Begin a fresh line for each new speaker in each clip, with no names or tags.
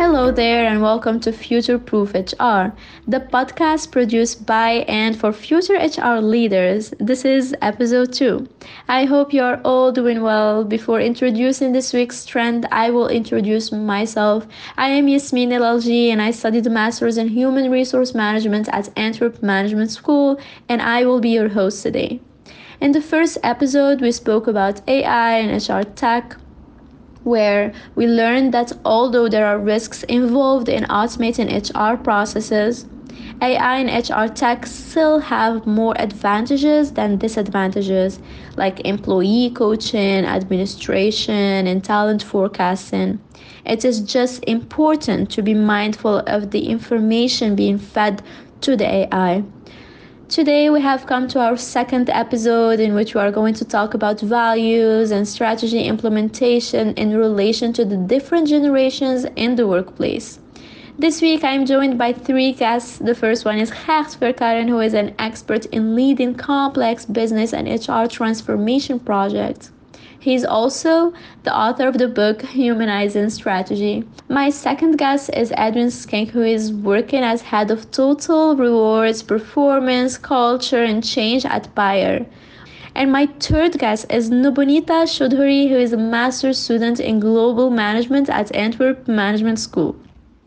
Hello there, and welcome to Future Proof HR, the podcast produced by and for future HR leaders. This is episode 2. I hope you are all doing well. Before introducing this week's trend, I will introduce myself. I am Yasmin LLG, and I studied a master's in human resource management at Antwerp Management School, and I will be your host today. In the first episode, we spoke about AI and HR tech, where we learned that although there are risks involved in automating HR processes, AI and HR tech still have more advantages than disadvantages, like employee coaching, administration, and talent forecasting. It is just important to be mindful of the information being fed to the AI. Today, we have come to our second episode in which we are going to talk about values and strategy implementation in relation to the different generations in the workplace. This week, I am joined by 3 guests. The first one is Gert Verkaren, who is an expert in leading complex business and HR transformation projects. He is also the author of the book Humanizing Strategy. My second guest is Edwin Skink, who is working as head of total rewards, performance, culture, and change at Bayer. And my third guest is Nubonita Chaudhuri, who is a master's student in global management at Antwerp Management School.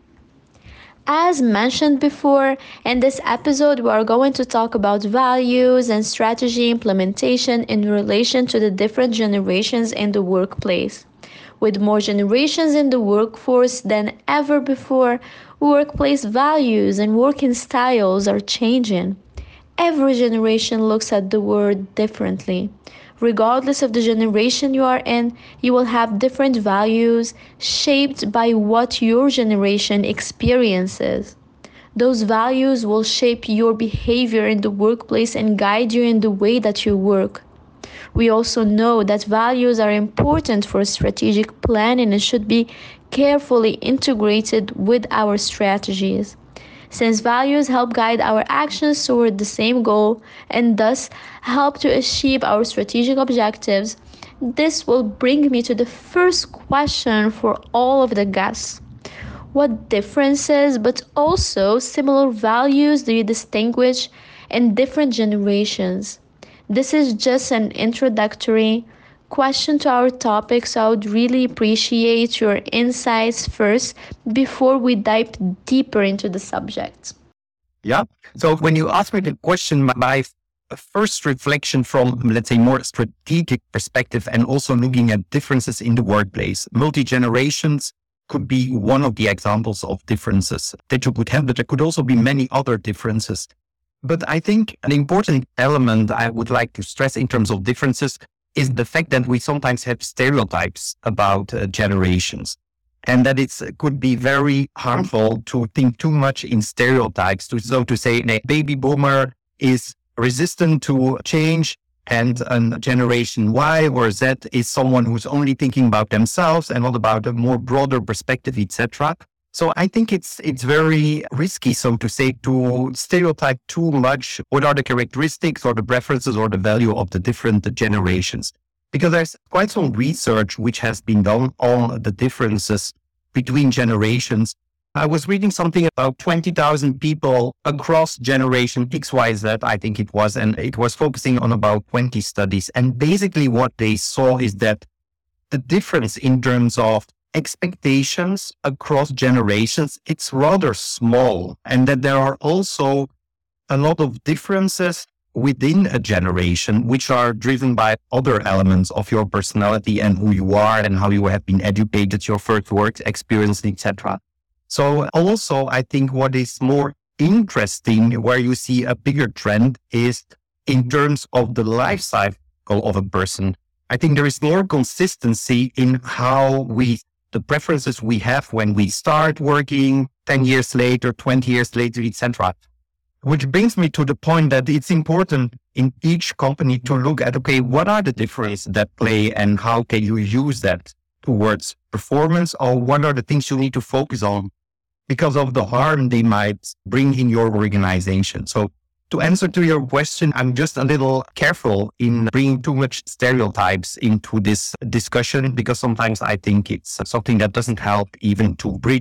As mentioned before, in this episode, we are going to talk about values and strategy implementation in relation to the different generations in the workplace. With more generations in the workforce than ever before, workplace values and working styles are changing. Every generation looks at the world differently. Regardless of the generation you are in, you will have different values shaped by what your generation experiences. Those values will shape your behavior in the workplace and guide you in the way that you work. We also know that values are important for strategic planning and should be carefully integrated with our strategies. Since values help guide our actions toward the same goal and thus help to achieve our strategic objectives, this will bring me to the first question for all of the guests. What differences but also similar values do you distinguish in different generations? This is just an introductory question to our topic, so I would really appreciate your insights first before we dive deeper into the subject.
Yeah. So when you ask me the question, my first reflection from, let's say, more strategic perspective and also looking at differences in the workplace, multi-generations could be one of the examples of differences that you could have, but there could also be many other differences. But I think an important element I would like to stress in terms of differences is the fact that we sometimes have stereotypes about generations, and that it could be very harmful to think too much in stereotypes. So to say, a baby boomer is resistant to change, and a generation Y or Z is someone who's only thinking about themselves and not about a more broader perspective, etc. So I think it's very risky, so to say, to stereotype too much what are the characteristics or the preferences or the value of the different generations. Because there's quite some research which has been done on the differences between generations. I was reading something about 20,000 people across generation X, Y, Z, I think it was, and it was focusing on about 20 studies. And basically what they saw is that the difference in terms of expectations across generations, it's rather small, and that there are also a lot of differences within a generation, which are driven by other elements of your personality and who you are and how you have been educated, your first work experience, etc. So also, I think what is more interesting, where you see a bigger trend, is in terms of the life cycle of a person. I think there is more consistency in how the preferences we have when we start working 10 years later, 20 years later, etc. Which brings me to the point that it's important in each company to look at, okay, what are the differences that play and how can you use that towards performance, or what are the things you need to focus on because of the harm they might bring in your organization. So to answer to your question, I'm just a little careful in bringing too much stereotypes into this discussion, because sometimes I think it's something that doesn't help even to bridge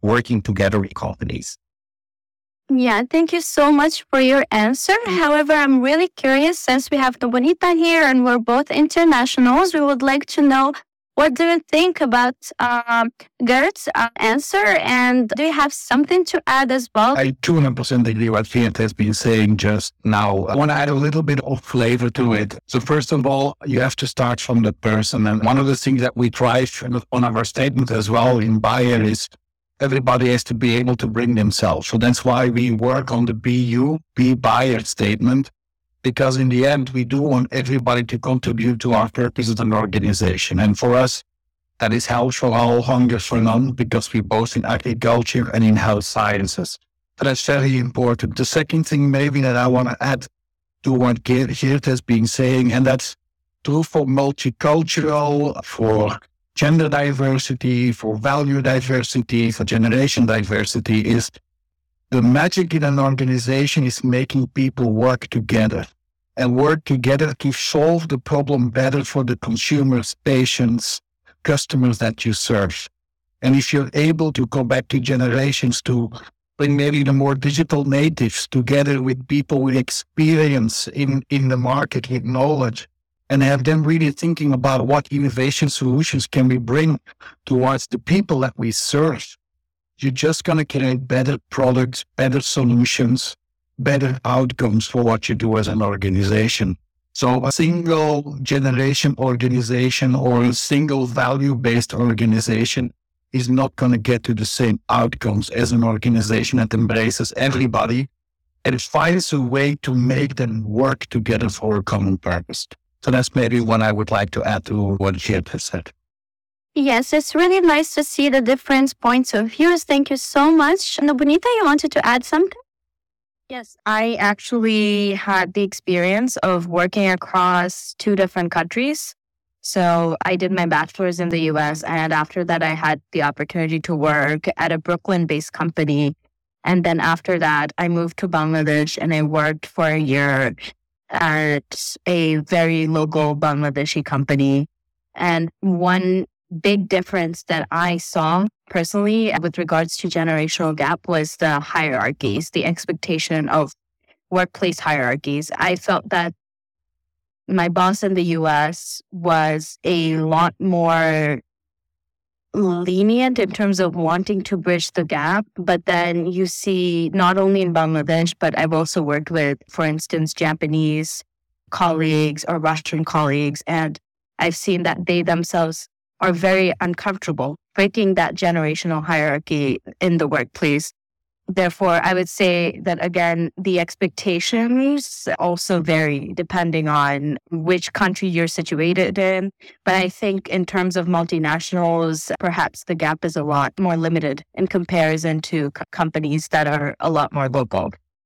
working together in companies.
Yeah, thank you so much for your answer. However, I'm really curious since we have Bonita here and we're both internationals. We would like to know, what do you think about Gert's answer? And do you have something to add as well?
I 200% agree what Geert has been saying just now. I want to add a little bit of flavor to it. So first of all, you have to start from the person. And one of the things that we drive on our statement as well in Bayer is everybody has to be able to bring themselves. So that's why we work on the Be Bayer statement, because in the end, we do want everybody to contribute to our purpose as an organization. And for us, that is health for all, hunger for none, because we're both in agriculture and in health sciences. So that's very important. The second thing maybe that I want to add to what Geert has been saying, and that's true for multicultural, for gender diversity, for value diversity, for generation diversity, is the magic in an organization is making people work together and work together to solve the problem better for the consumers, patients, customers that you serve. And if you're able to go back to generations to bring maybe the more digital natives together with people with experience in the market, with knowledge, and have them really thinking about what innovation solutions can we bring towards the people that we serve, you're just going to create better products, better solutions, better outcomes for what you do as an organization. So a single generation organization or a single value-based organization is not going to get to the same outcomes as an organization that embraces everybody and finds a way to make them work together for a common purpose. So that's maybe what I would like to add to what Geert has said.
Yes, it's really nice to see the different points of views. Thank you so much. And Bonita, you wanted to add something?
Yes, I actually had the experience of working across 2 different countries. So I did my bachelor's in the US, and after that, I had the opportunity to work at a Brooklyn-based company. And then after that, I moved to Bangladesh and I worked for a year at a very local Bangladeshi company. And one big difference that I saw personally with regards to generational gap was the hierarchies, the expectation of workplace hierarchies. I felt that my boss in the US was a lot more lenient in terms of wanting to bridge the gap. But then you see, not only in Bangladesh, but I've also worked with, for instance, Japanese colleagues or Russian colleagues, and I've seen that they themselves are very uncomfortable breaking that generational hierarchy in the workplace. Therefore, I would say that, again, the expectations also vary depending on which country you're situated in. But I think in terms of multinationals, perhaps the gap is a lot more limited in comparison to companies that are a lot more local.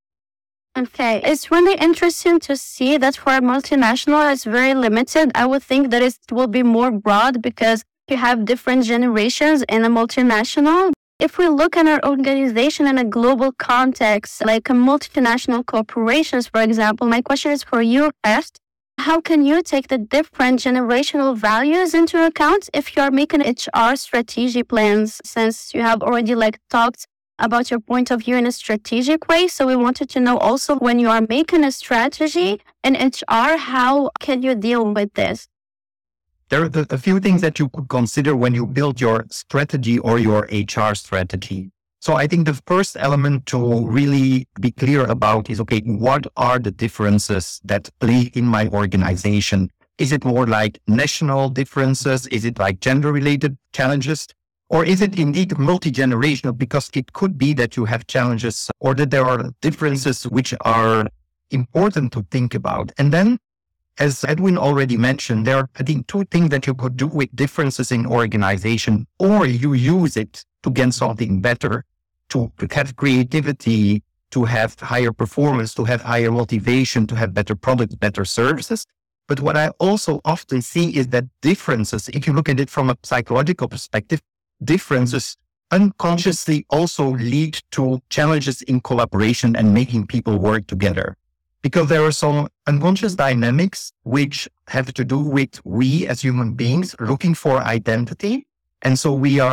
Okay, it's really interesting to see that for a multinational, it's very limited. I would think that it will be more broad because you have different generations in a multinational. If we look at our organization in a global context, like a multinational corporations, for example, my question is for you first. How can you take the different generational values into account if you're making HR strategy plans, since you have already talked about your point of view in a strategic way? So we wanted to know also, when you are making a strategy in HR, how can you deal with this?
There are a few things that you could consider when you build your strategy or your HR strategy. So I think the first element to really be clear about is, okay, what are the differences that play in my organization? Is it more like national differences? Is it like gender-related challenges? Or is it indeed multi-generational? Because it could be that you have challenges or that there are differences which are important to think about. And then, as Edwin already mentioned, there are, I think, 2 things that you could do with differences in organization, or you use it to get something better, to have creativity, to have higher performance, to have higher motivation, to have better products, better services. But what I also often see is that differences, if you look at it from a psychological perspective, differences unconsciously also lead to challenges in collaboration and making people work together. Because there are some unconscious dynamics which have to do with we as human beings looking for identity. And so we are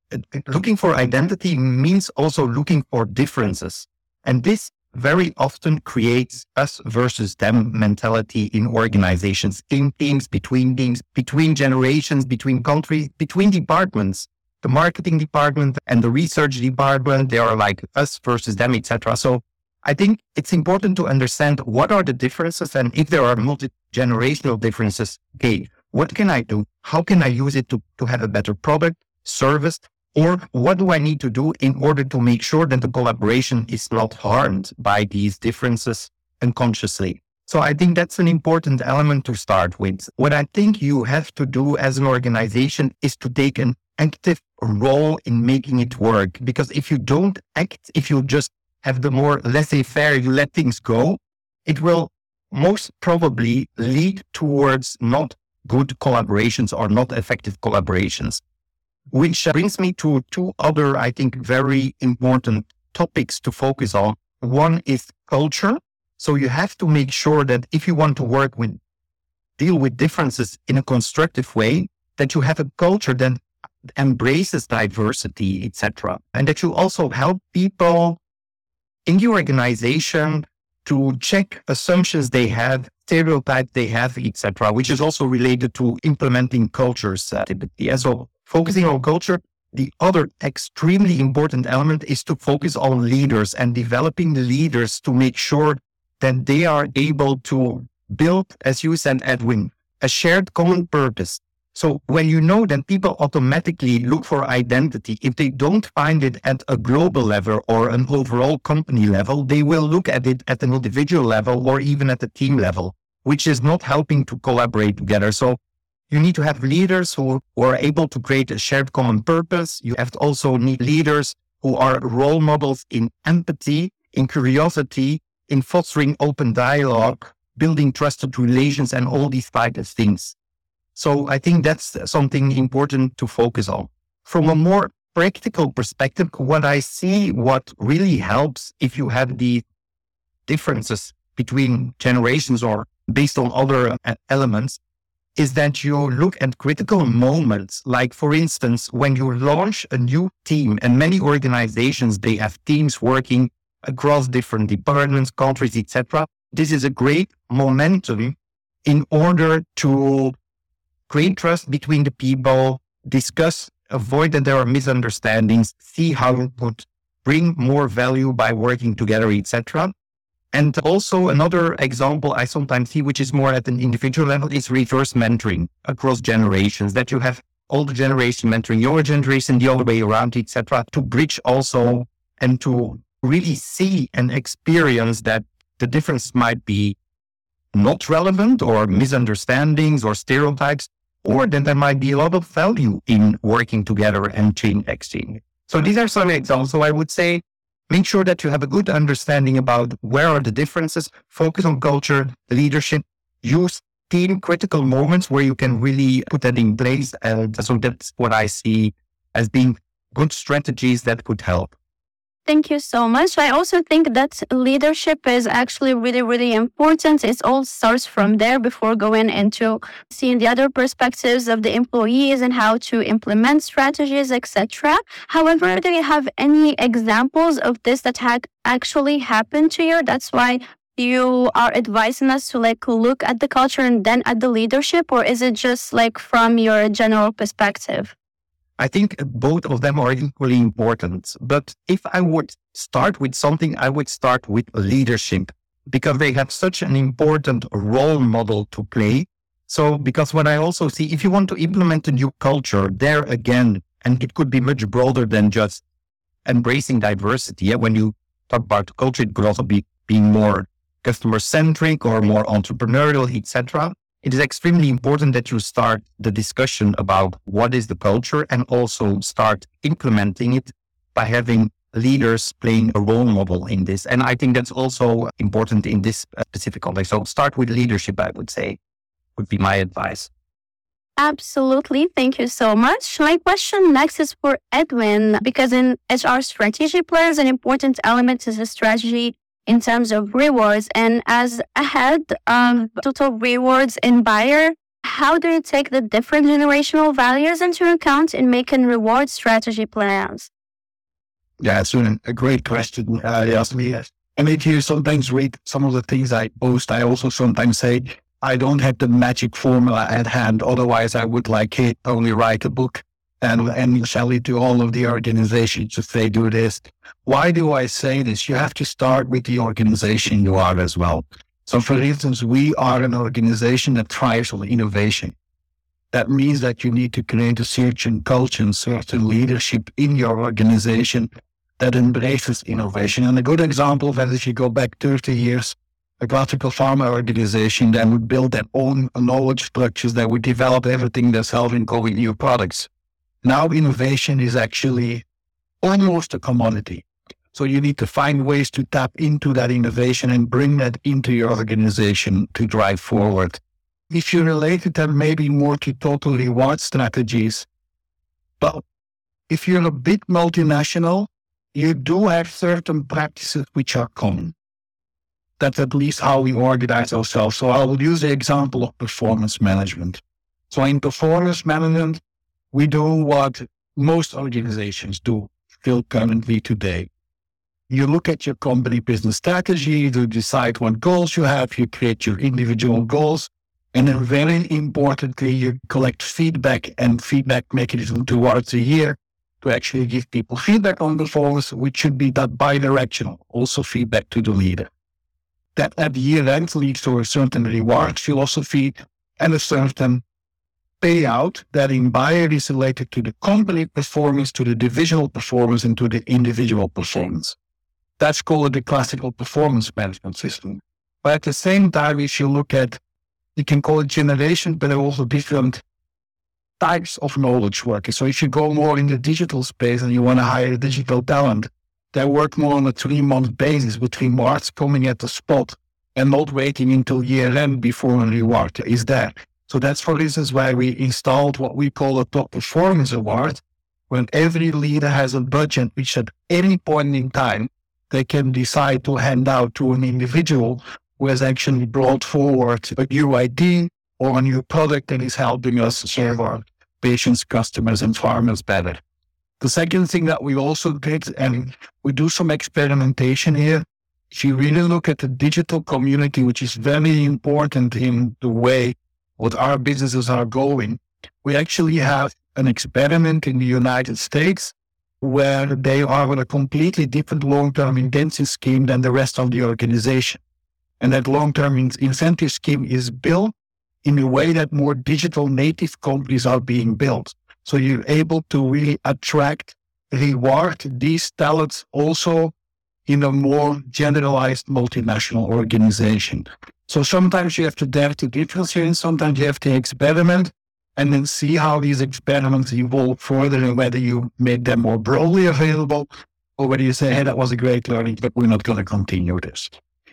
looking for identity means also looking for differences. And this very often creates us versus them mentality in organizations, in teams, between generations, between countries, between departments. The marketing department and the research department, they are like us versus them, etc. So I think it's important to understand what are the differences, and if there are multi-generational differences, okay, what can I do? How can I use it to have a better product, service, or what do I need to do in order to make sure that the collaboration is not harmed by these differences unconsciously? So I think that's an important element to start with. What I think you have to do as an organization is to take an active role in making it work. Because if you don't act, if you just have the more laissez-faire, you let things go, it will most probably lead towards not good collaborations or not effective collaborations. Which brings me to two other, I think, very important topics to focus on. One is culture. So you have to make sure that if you want to deal with differences in a constructive way, that you have a culture that embraces diversity, etc. And that you also help people in the organization to check assumptions they have, stereotypes they have, etc., which is also related to implementing cultures typically. And so focusing on culture, the other extremely important element is to focus on leaders and developing the leaders to make sure that they are able to build, as you said, Edwin, a shared common purpose. So when you know that people automatically look for identity, if they don't find it at a global level or an overall company level, they will look at it at an individual level or even at the team level, which is not helping to collaborate together. So you need to have leaders who are able to create a shared common purpose. You have to also need leaders who are role models in empathy, in curiosity, in fostering open dialogue, building trusted relations, and all these types of things. So I think that's something important to focus on. From a more practical perspective, what really helps if you have the differences between generations or based on other elements, is that you look at critical moments. Like, for instance, when you launch a new team, and many organizations, they have teams working across different departments, countries, etc. This is a great momentum in order to create trust between the people, discuss, avoid that there are misunderstandings, see how you could bring more value by working together, etc. And also another example I sometimes see, which is more at an individual level, is reverse mentoring across generations, that you have older generation mentoring younger generation, the other way around, etc., to bridge also and to really see and experience that the difference might be not relevant or misunderstandings or stereotypes, or that there might be a lot of value in working together and chain exchange. So these are some examples. So I would say, make sure that you have a good understanding about where are the differences, focus on culture, leadership, use team critical moments where you can really put that in place. And so that's what I see as being good strategies that could help.
Thank you so much. I also think that leadership is actually really, really important. It all starts from there before going into seeing the other perspectives of the employees and how to implement strategies, etc. However, do you have any examples of this that had actually happened to you? That's why you are advising us to look at the culture and then at the leadership, or is it just from your general perspective?
I think both of them are equally important. But if I would start with something, I would start with leadership, because they have such an important role model to play. So, because what I also see, if you want to implement a new culture, there again, and it could be much broader than just embracing diversity. Yeah? When you talk about culture, it could also be being more customer-centric or more entrepreneurial, etc. It is extremely important that you start the discussion about what is the culture and also start implementing it by having leaders playing a role model in this. And I think that's also important in this specific context. So start with leadership, I would say, would be my advice.
Absolutely. Thank you so much. My question next is for Edwin, because in HR strategy plays an important element is the strategy in terms of rewards. And as a head of total rewards in Bayer, How do you take the different generational values into account in making reward strategy plans?
Yeah, it's a great question, Yasmin. And if you sometimes read some of the things I post, I also sometimes say, I don't have the magic formula at hand. Otherwise, I would only write a book and sell it to all of the organizations if they do this. Why do I say this? You have to start with the organization you are as well. So for instance, we are an organization that thrives on innovation. That means that you need to create a certain culture and certain leadership in your organization that embraces innovation. And a good example of that, if you go back 30 years, a classical pharma organization that would build their own knowledge structures, that would develop everything themselves in going new products. Now innovation is actually almost a commodity. So you need to find ways to tap into that innovation and bring that into your organization to drive forward. If you relate it then maybe more to total reward strategies, but if you're a big multinational, you do have certain practices which are common. That's at least how we organize ourselves. So I will use the example of performance management. So in performance management, we do what most organizations do still currently today. You look at your company business strategy to decide what goals you have, you create your individual goals, and then very importantly, you collect feedback and feedback mechanism towards a year to actually give people feedback on performance, which should be that bi-directional, also feedback to the leader. That at the year end leads to a certain reward philosophy and a certain payout that in Bayer is related to the company performance, to the divisional performance, and to the individual performance. That's called the classical performance management system. But at the same time, if you look at, you can call it generation, but there are also different types of knowledge workers. So if you go more in the digital space and you want to hire digital talent, they work more on a 3-month basis between March coming at the spot and not waiting until year end before a reward is there. So that's, for instance, why we installed what we call a top performance award, when every leader has a budget which at any point in time they can decide to hand out to an individual who has actually brought forward a new idea or a new product that is helping us serve our patients, customers, and farmers better. The second thing that we also did, and we do some experimentation here, if you really look at the digital community, which is very important in the way what our businesses are going, we actually have an experiment in the United States where they are on a completely different long-term incentive scheme than the rest of the organization. And that long-term incentive scheme is built in a way that more digital native companies are being built. So you're able to really attract, reward these talents also in a more generalized multinational organization. So sometimes you have to dare to differentiate, sometimes you have to experiment and then see how these experiments evolve further and whether you make them more broadly available or whether you say, hey, that was a great learning, but we're not going to continue this.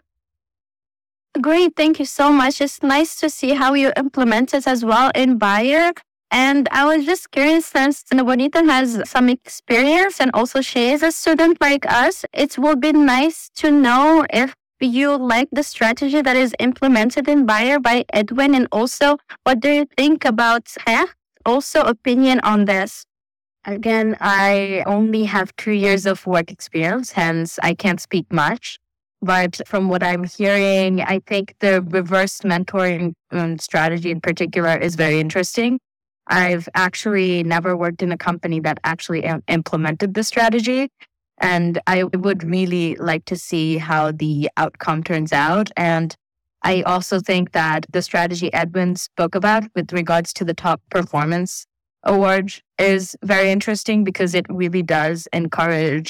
Great. Thank you so much. It's nice to see how you implement it as well in Bayer. And I was just curious, since Bonita has some experience and also she is a student like us, it would be nice to know if you like the strategy that is implemented in Bayer by Edwin, and also what do you think about also opinion on this?
Again, I only have 2 years of work experience, hence I can't speak much. But from what I'm hearing, I think the reverse mentoring strategy in particular is very interesting. I've actually never worked in a company that actually implemented the strategy. And I would really like to see how the outcome turns out. And I also think that the strategy Edwin spoke about with regards to the top performance award is very interesting because it really does encourage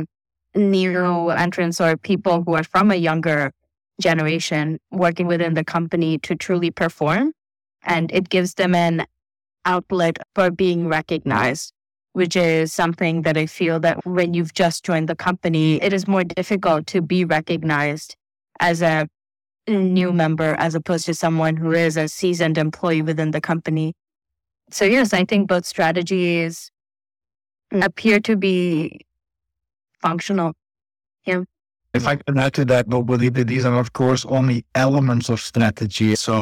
new entrants or people who are from a younger generation working within the company to truly perform. And it gives them an outlet for being recognized, which is something that I feel that when you've just joined the company, it is more difficult to be recognized as a new member as opposed to someone who is a seasoned employee within the company. So yes, I think both strategies appear to be functional. Yeah.
If I can add to that, nobody, these are of course only elements of strategy. So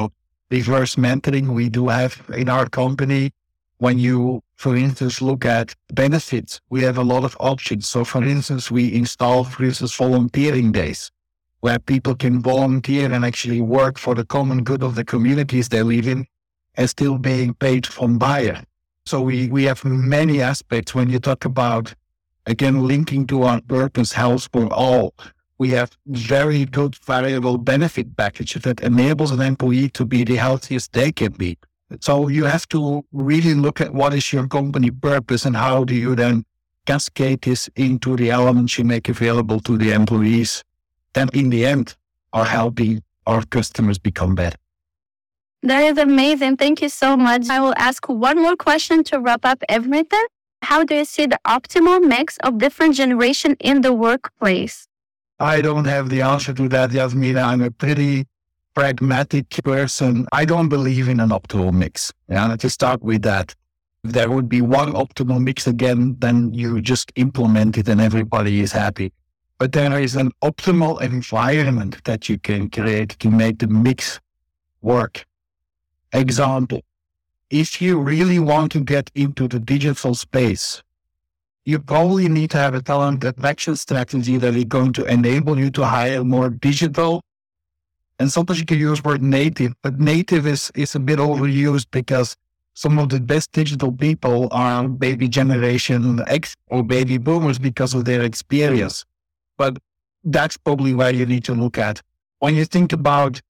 reverse mentoring we do have in our company. When you, for instance, look at benefits, we have a lot of options. So, for instance, we install, for instance, volunteering days where people can volunteer and actually work for the common good of the communities they live in and still being paid from Bayer. So we have many aspects when you talk about, again, linking to our purpose, health for all. We have very good variable benefit packages that enables an employee to be the healthiest they can be. So you have to really look at what is your company purpose and how do you then cascade this into the elements you make available to the employees that in the end are helping our customers become better.
That is amazing. Thank you so much. I will ask one more question to wrap up everything. How do you see the optimal mix of different generations in the workplace?
I don't have the answer to that, Yasmina. I'm a pretty pragmatic person. I don't believe in an optimal mix. Yeah, to start with that. If there would be one optimal mix again, then you just implement it and everybody is happy. But there is an optimal environment that you can create to make the mix work. Example, if you really want to get into the digital space, you probably need to have a talent attraction strategy that is going to enable you to hire more digital. And sometimes you can use word native, but native is a bit overused because some of the best digital people are baby generation X or baby boomers because of their experience. But that's probably where you need to look at. When you think about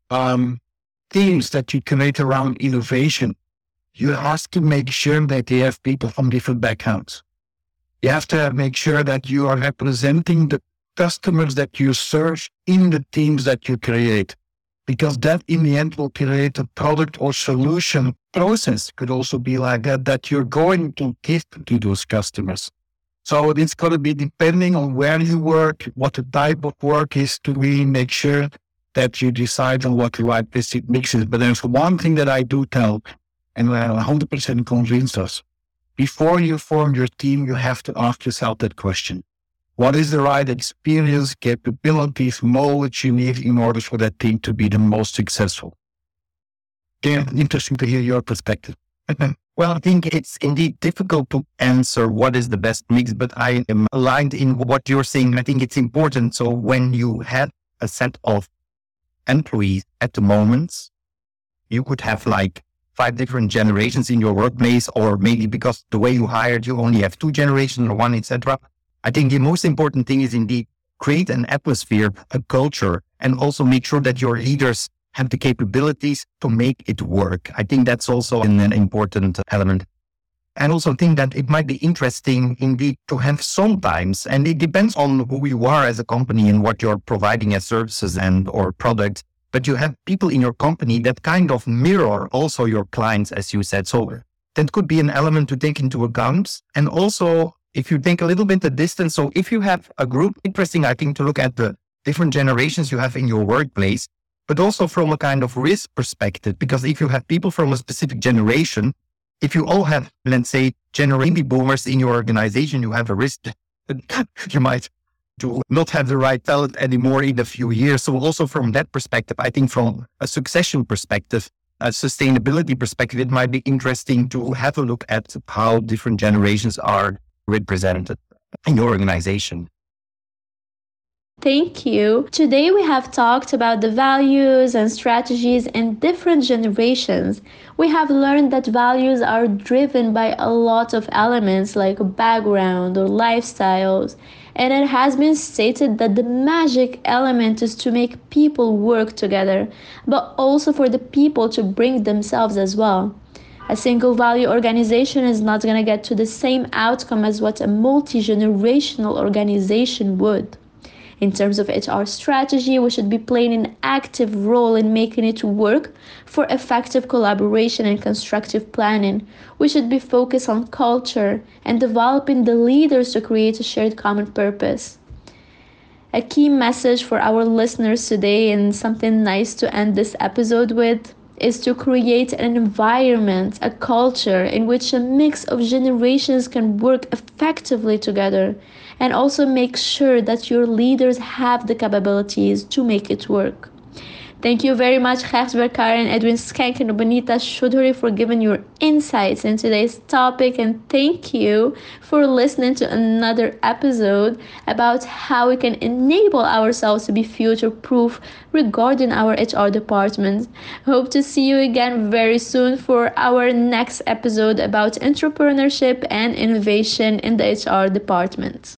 teams that you create around innovation, you have to make sure that they have people from different backgrounds. You have to make sure that you are representing the customers that you serve in the teams that you create, because that in the end will create a product or solution process. Could also be like that you're going to give to those customers. So it's going to be depending on where you work, what the type of work is, to really make sure that you decide on what the right basic mix is. But there's one thing that I do tell, and we're 100% convinced us. Before you form your team, you have to ask yourself that question. What is the right experience, capabilities, knowledge you need in order for that team to be the most successful? Again, interesting to hear your perspective.
Well, I think it's indeed difficult to answer what is the best mix, but I am aligned in what you're saying. I think it's important. So when you have a set of employees at the moment, you could have like 5 different generations in your workplace, or maybe because the way you hired, you only have 2 generations or 1, etc. I think the most important thing is indeed create an atmosphere, a culture, and also make sure that your leaders have the capabilities to make it work. I think that's also an important element. And also think that it might be interesting indeed to have sometimes, and it depends on who you are as a company and what you're providing as services and or products, but you have people in your company that kind of mirror also your clients, as you said. So that could be an element to take into account. And also, if you take a little bit the distance, so if you have a group, interesting, I think, to look at the different generations you have in your workplace, but also from a kind of risk perspective, because if you have people from a specific generation, if you all have, let's say, baby boomers in your organization, you have a risk that you might do not have the right talent anymore in a few years. So also from that perspective, I think from a succession perspective, a sustainability perspective, it might be interesting to have a look at how different generations are represented in your organization.
Thank you. Today we have talked about the values and strategies in different generations. We have learned that values are driven by a lot of elements like background or lifestyles, and it has been stated that the magic element is to make people work together, but also for the people to bring themselves as well. A single value organization is not going to get to the same outcome as what a multi-generational organization would. In terms of HR strategy, we should be playing an active role in making it work for effective collaboration and constructive planning. We should be focused on culture and developing the leaders to create a shared common purpose. A key message for our listeners today, and something nice to end this episode with, is to create an environment, a culture in which a mix of generations can work effectively together, and also make sure that your leaders have the capabilities to make it work. Thank you very much, Gers Berkar and Edwin Skank and Bonita Shodhuri, for giving your insights in today's topic. And thank you for listening to another episode about how we can enable ourselves to be future-proof regarding our HR department. Hope to see you again very soon for our next episode about entrepreneurship and innovation in the HR department.